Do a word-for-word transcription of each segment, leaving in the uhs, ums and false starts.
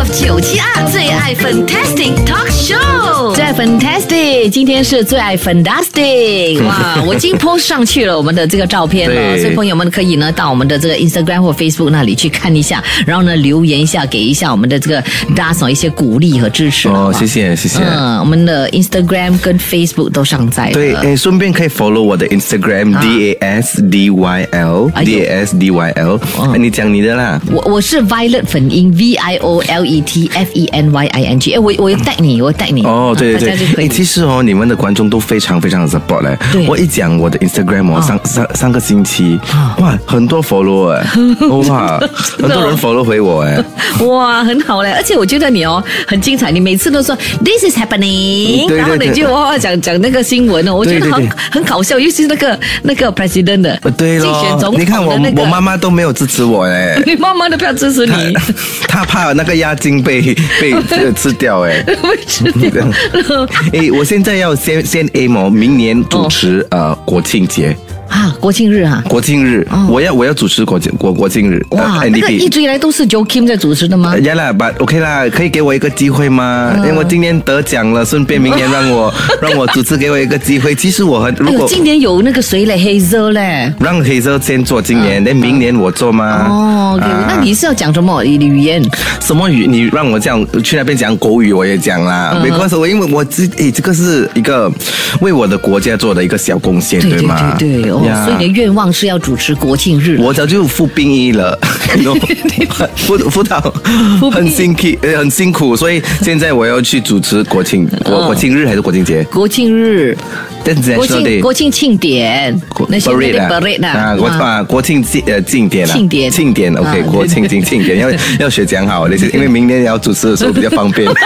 Love 九七二最爱 Fantastic Talk Show， 最爱 Fantastic， 今天是最爱 Fantastic， 哇，我已经 post 上去了我们的这个照片了，所以朋友们可以呢到我们的这个 Instagram 或 Facebook 那里去看一下，然后呢留言一下，给一下我们的这个 Das 一些鼓励和支持。 哦，谢谢谢谢。 嗯，我们的 Instagram 跟 Facebook 都上载了。 对，诶，顺便可以 follow 我的 Instagram、啊、D A S D Y L、哎、D A S D Y L、哦。你讲你的啦。 我我是 Violet 粉英 V I O L E T F E N Y I N G。哎，我我有带你，我带你。 哦，对对对。哎，其实哦，你们的观众都非常非常的 support 嘞。我一讲我的 Instagram 哦，上上上个星期，哇，很多 follow 哎，哇，很多人 follow 回我哎， 哇，很好嘞。而且我觉得你哦很精彩，你每次都说 This is happening，、嗯、然后你就哇讲讲那个新闻哦，我觉得很很搞笑，尤其是那个那个 president 的， 对咯，竞选总统的、那个、你看我我妈妈都没有支持我哎， 你妈妈都不要支持你， 她怕那个押金被被吃掉哎， 被吃掉。 哎，我现在要先先 aim 哦，明年主持、哦、呃国庆节。 啊，国庆日啊！ 国庆日，哦、我要我要主持国庆国国庆日。 哇，呃、那个一直以来都是 Joe Kim 在主持的吗？ 呀啦，把 OK 啦，可以给我一个机会吗？嗯、因为我今年得奖了，顺便明年让我让我主持，给我一个机会。其实我很如果、 哎、今年有那个谁嘞 ，Hazel 嘞， 让 Hazel 先做今年，那、嗯、明年我做吗？ 哦， okay, 啊、那你是要讲什么语言？ 什么语？你让我讲去那边讲国语，我也讲啦。嗯、没关系，我因为我这诶，这个是一个为我的国家做的一个小贡献， 对吗？ 对对对，哦，所以你的愿望。是要主持国庆日， 我早就服兵役了，服服到很辛苦，很辛苦，所以现在我要去主持国庆国国庆日还是国庆节？ 国庆日，国庆国庆庆典，那些 parade 啊，我把国庆庆呃庆典庆典庆典 ，OK， 国庆庆庆典要要学讲好，因为明年要主持的时候比较方便。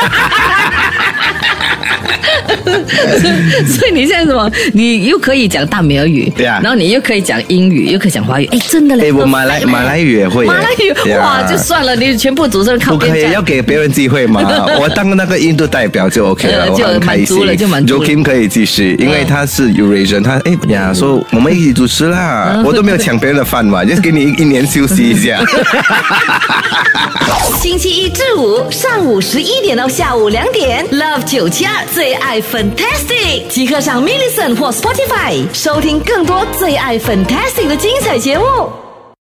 所以你现在什么？你又可以讲大美尔语，对啊，然后你又可以讲英语，又可以讲华语，哎，真的嘞！ 哎，我马来马来语也会， 马来语哇，就算了，你全部主持人靠边站， 不可以要给别人机会嘛？我当那个印度代表就 OK 了， 就满足了，就满足了。 Joe Kim 可以继续，因为他是 Eurasian， 他哎呀，说我们一起主持啦，我都没有抢别人的饭碗，就给你一年休息一下。 星期一至五上午十一点到下午两点 ，Love 九七二最爱 Fantastic， 即刻上 Millicent 或 Spotify 收听更多最爱 Fantastic 的精彩节目。